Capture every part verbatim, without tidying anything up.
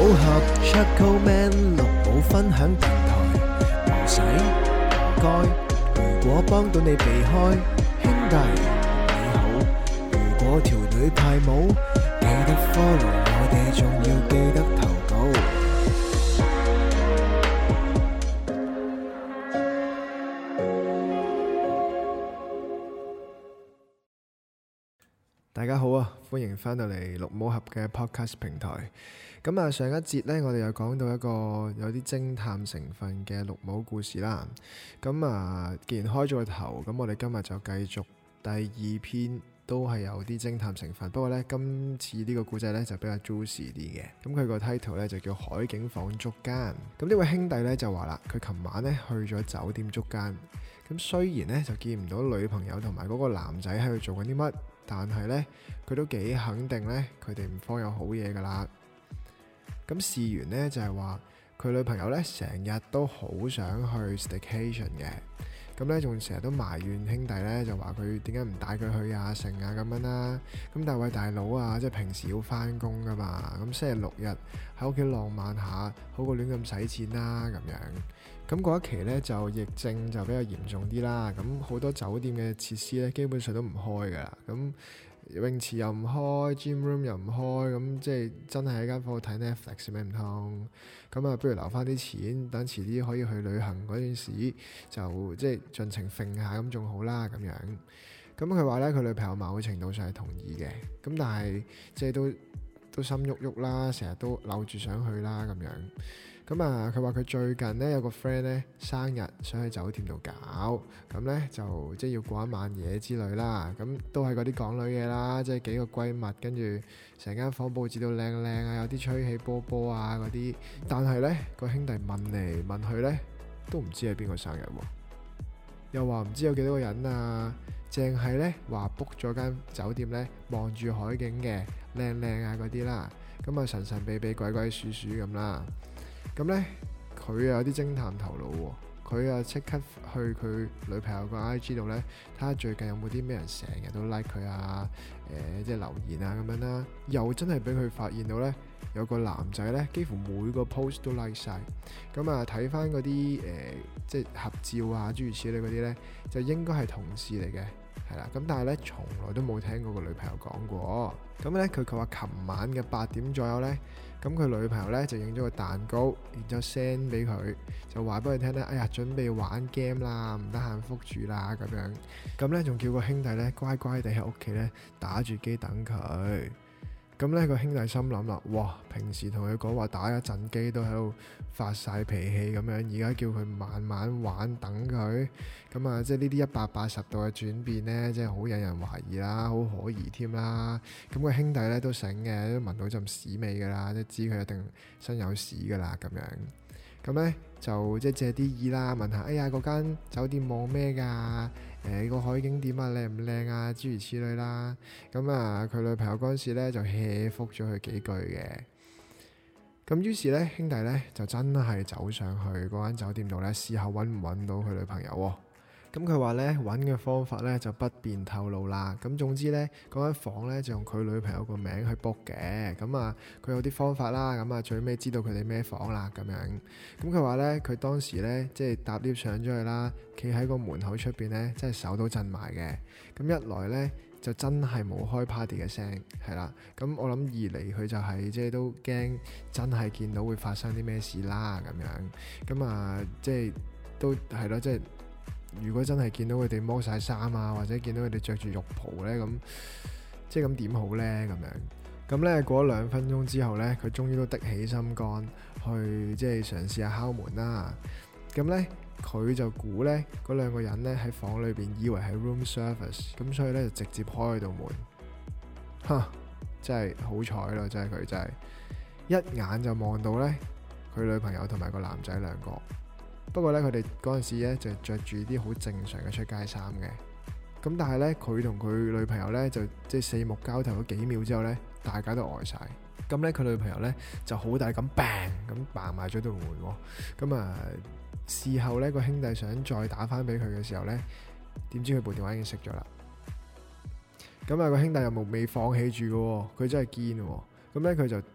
武俠 Chuckle Man 綠帽分享平台，唔使唔該，如果幫到你避開，兄弟你好。如果條女派舞，記得 follow 我哋，仲要記得投稿。大家好啊，歡迎翻到嚟綠帽俠嘅 podcast 平台。咁啊，上一節呢，我哋又講到一個有啲偵探成分嘅綠帽故事啦。咁啊，既然開咗個頭，咁我哋今日就繼續第二篇，都係有啲偵探成分。不過呢，今次呢個故仔呢，就比較 juicy 啲嘅。咁佢個 title 呢，就叫海景房捉姦。咁呢位兄弟呢，就話啦，佢琴晚呢去咗酒店捉姦。咁雖然呢，就見唔到女朋友同埋嗰個男仔喺度做緊啲乜，但係呢，佢都幾肯定呢，佢哋唔方有好嘢噶啦。咁事緣呢，就係話佢女朋友呢，成日都好想去 staycation 嘅，咁呢，仲成日都埋怨兄弟呢，就話佢點解唔帶佢去啊成啊咁樣啦。咁但係喂大佬啊，即係平時要翻工噶嘛，咁星期六日喺屋企浪漫下，好過亂咁使錢啦咁樣。咁嗰一期呢，就疫症就比較嚴重啲啦，咁好多酒店嘅設施呢，基本上都唔開噶啦，咁泳池又唔開 gym room 又唔開，咁即係真係喺間房度睇 Netflix 咩唔通？咁啊，不如留翻啲錢，等遲啲可以去旅行嗰陣時，就即係盡情揈下咁仲好啦咁樣。咁佢話呢，佢女朋友某程度上係同意嘅，咁但係即係都都心喐喐啦，成日都扭住想去啦咁樣。咁啊，佢話佢最近呢，有個 friend 呢生日，想去酒店度搞，咁呢，就即係要過一晚夜之類啦。咁都係嗰啲港女嘢啦，即係幾個閨蜜，跟住成間房佈置到靚靚啊，有啲吹起波波啊嗰啲。但係呢，個兄弟問嚟問去呢，都唔知係邊個生日喎，又話唔知有幾多個人啊，淨係呢話 book 咗間酒店呢，望住海景嘅，靚靚啊嗰啲啦。咁啊神神秘秘鬼鬼祟祟咁啦。咁呢，佢又有啲偵探頭腦喎，佢又即刻去佢女朋友個 I G 度呢，睇下最近有冇啲咩人成日都 like 佢啊，誒、呃、即係留言啊咁樣啦，又真係俾佢發現到呢，有個男仔呢，幾乎每個 post 都 like 晒。咁啊睇翻嗰啲誒即係合照啊諸如此類嗰啲呢，就應該係同事嚟嘅，係啦。咁但係呢，從來都冇聽過個女朋友講過。咁呢，佢佢話琴晚嘅八點左右呢。咁佢女朋友咧就影咗個蛋糕，然之後 send 俾佢，就話俾佢聽咧，哎呀準備玩 game 啦，唔得閒覆住啦咁樣。咁咧仲叫個兄弟咧乖乖地喺屋企咧打住機等佢。咁咧個兄弟心諗啦，哇！平時同佢講話打一陣機都喺度發晒脾氣咁樣，而家叫佢慢慢玩等佢，咁啊即係呢啲一百八十度嘅轉變呢，即係好引人懷疑啦，好可疑添啦。咁個兄弟咧都醒嘅，都聞到陣屎味噶啦，即知佢一定身有屎噶啦咁樣。咁咧就即係借啲意啦，問下哎呀嗰間酒店望咩㗎？誒、呃、個海景點啊靚唔靚啊？諸如此類啦。咁啊佢女朋友嗰陣時咧就 hea 覆咗佢幾句嘅。咁於是咧兄弟咧就真係走上去嗰間酒店度咧試下揾唔揾到佢女朋友喎。咁佢話咧揾嘅方法咧就不便透露啦。咁總之咧嗰間房咧就用佢女朋友個名去 book 嘅。咁啊佢有啲方法啦。咁啊最尾知道佢哋咩房啦咁樣。咁佢話咧佢當時咧即係搭 lift 上咗去啦，企喺個門口出邊咧，真係手都震埋嘅。咁一來咧就真係冇開 party 嘅聲，係啦。咁我諗二嚟佢就係、是、即係都驚真係見到會發生啲咩事啦咁樣。咁啊即係都係咯，即係。如果真係見到佢哋剝晒衫啊，或者見到佢哋着住浴袍呢，咁即係咁點好呢？咁樣咁呢過咗兩分鐘之後呢，佢終於都的起心肝去即係嘗試下敲門啦。咁呢，佢就估呢嗰兩個人呢喺房裏邊以為係 room service，咁所以呢就直接開到門。嚇！真係好彩咯，真係佢真係一眼就望到呢佢女朋友同埋個男仔兩個。不過咧，佢哋嗰陣時咧就着住啲好正常嘅出街衫嘅。咁但係咧，佢同佢女朋友咧就即係四目交投咗幾秒之後咧，大家都呆晒。咁咧，佢女朋友咧就好大咁 bang 咁嘭埋咗道門喎。咁啊，事後咧個兄弟想再打翻俾佢嘅時候咧，點知佢部電話已經熄咗啦。咁啊，個兄弟又冇未放棄住嘅喎，佢真係堅喎。咁咧佢就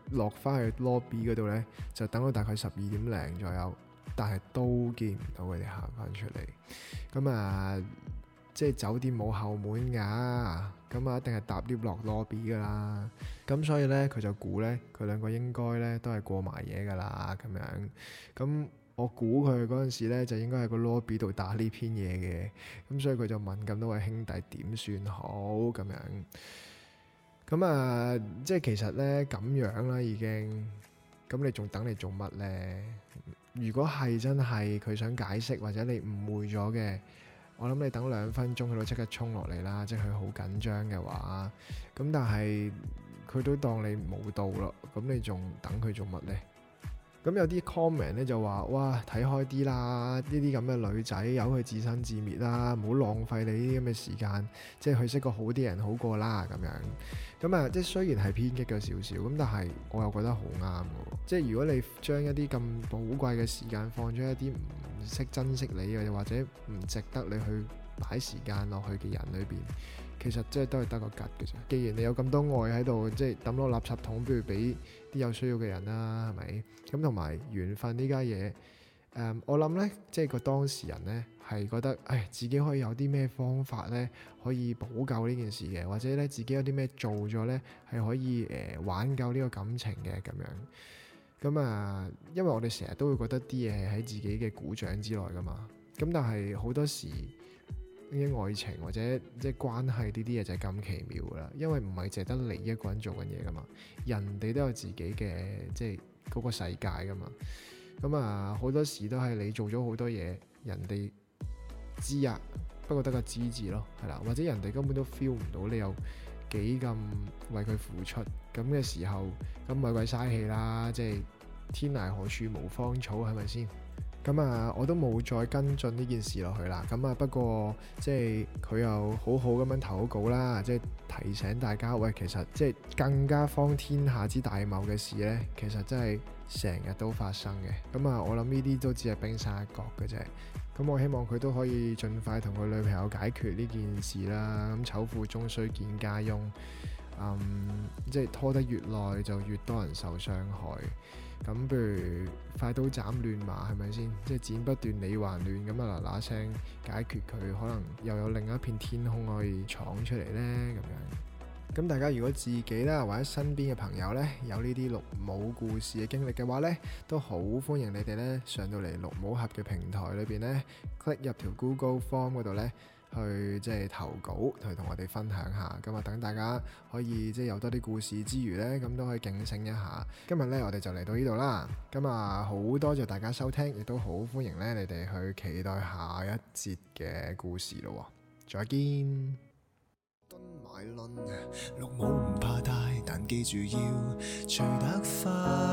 落翻去 lobby 嗰度呢，就等到大概十二點零左右，但係都見唔到佢哋行翻出嚟。咁啊，即係酒店冇後門㗎，咁啊一定係搭 lift 落 lobby 㗎啦。咁所以呢，佢就估呢，佢兩個應該呢都係過埋嘢㗎啦，咁樣。咁我估佢嗰陣時呢，就應該喺個 lobby 度打呢篇嘢嘅。咁所以佢就問咁多位兄弟點算好咁樣。咁啊，即係其實呢，咁樣啦已經。咁你仲等你做乜呢？如果係真係佢想解釋或者你誤會咗嘅，我諗你等兩分鐘佢都即刻衝落嚟啦。即係佢好緊張嘅話，咁但係佢都當你冇到咯。咁你仲等佢做乜呢？咁有啲 comment 咧就話：哇，睇開啲啦！呢啲咁嘅女仔由佢自生自滅啦，唔好浪費你呢啲咁嘅時間。即係佢識個好啲人好過啦咁樣。咁啊，即係雖然係偏激咗少少，咁但係我又覺得好啱嘅。即係如果你將一啲咁寶貴嘅時間放咗一啲唔識珍惜你又或者唔值得你去擺時間落去嘅人裏邊，其實即係都係得個吉嘅啫。既然你有咁多愛喺度，即係抌落垃圾桶，不如俾啲有需要嘅人啦，係咪？咁同埋緣分呢家嘢，誒、嗯，我諗呢，即係個當事人呢，係覺得，唉，自己可以有啲咩方法呢，可以補救呢件事嘅，或者呢，自己有啲咩做咗呢，係可以誒、呃、挽救呢個感情嘅咁樣。咁啊，因為我哋成日都會覺得啲嘢係喺自己嘅股掌之內噶嘛。咁但係好多時，呢啲愛情或者即係關係呢啲嘢就係咁奇妙噶啦，因為唔係淨係得你一個人做緊嘢噶嘛，人哋都有自己嘅即係嗰個世界噶嘛。咁啊，好多時都係你做咗好多嘢，人哋知啊，不過得個知字咯，係啦，或者人哋根本都 feel 唔到你有幾咁為佢付出，咁嘅時候，咁咪鬼嘥氣啦，即係天涯何處無芳草，係咪先？咁啊，我都冇再跟進呢件事落去啦。咁啊，不過即係佢又好好咁樣投稿啦，即係提醒大家，喂，其實即係更加荒天下之大謬嘅事呢，其實真係成日都發生嘅。咁啊，我諗呢啲都只係冰山一角嘅啫。咁我希望佢都可以盡快同佢女朋友解決呢件事啦。咁醜婦終須見家翁，嗯，即係拖得越耐就越多人受傷害。咁不如快刀斬亂麻，係咪先？即係剪不斷理還亂，咁啊嗱嗱聲解決佢，可能又有另一片天空可以闖出嚟呢。咁樣。咁大家如果自己啦或者身邊嘅朋友呢，有呢啲綠帽故事嘅經歷嘅話呢，都好歡迎你哋呢上到嚟綠帽俠嘅平台裏邊呢 click 入條 Google Form 嗰度呢，去即係投稿，去同我哋分享下。咁啊，等大家可以即係有多啲故事之餘呢，咁都可以警醒一下。今日呢，我哋就嚟到呢度啦。咁啊，好多謝大家收聽，亦都好歡迎呢你哋去期待下一節嘅故事咯。再見。蹲埋輪，綠帽唔怕大，但記住要除得快。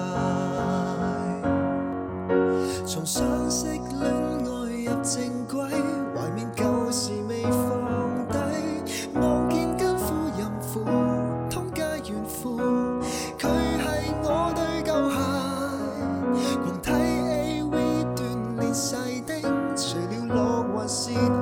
從相識戀愛入正軌，懷緬舊時未放低，望見奸夫淫婦通街怨婦，佢係我對舊鞋，狂睇 A V 鍛鍊細丁，除了樂還是